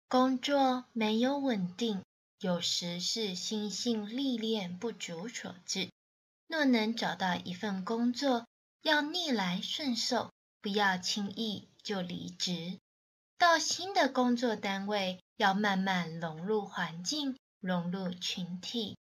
工作没有稳定，有时是心性历练不足所致。若能找到一份工作，要逆来顺受，不要轻易就离职。到新的工作单位，要慢慢融入环境，融入群体，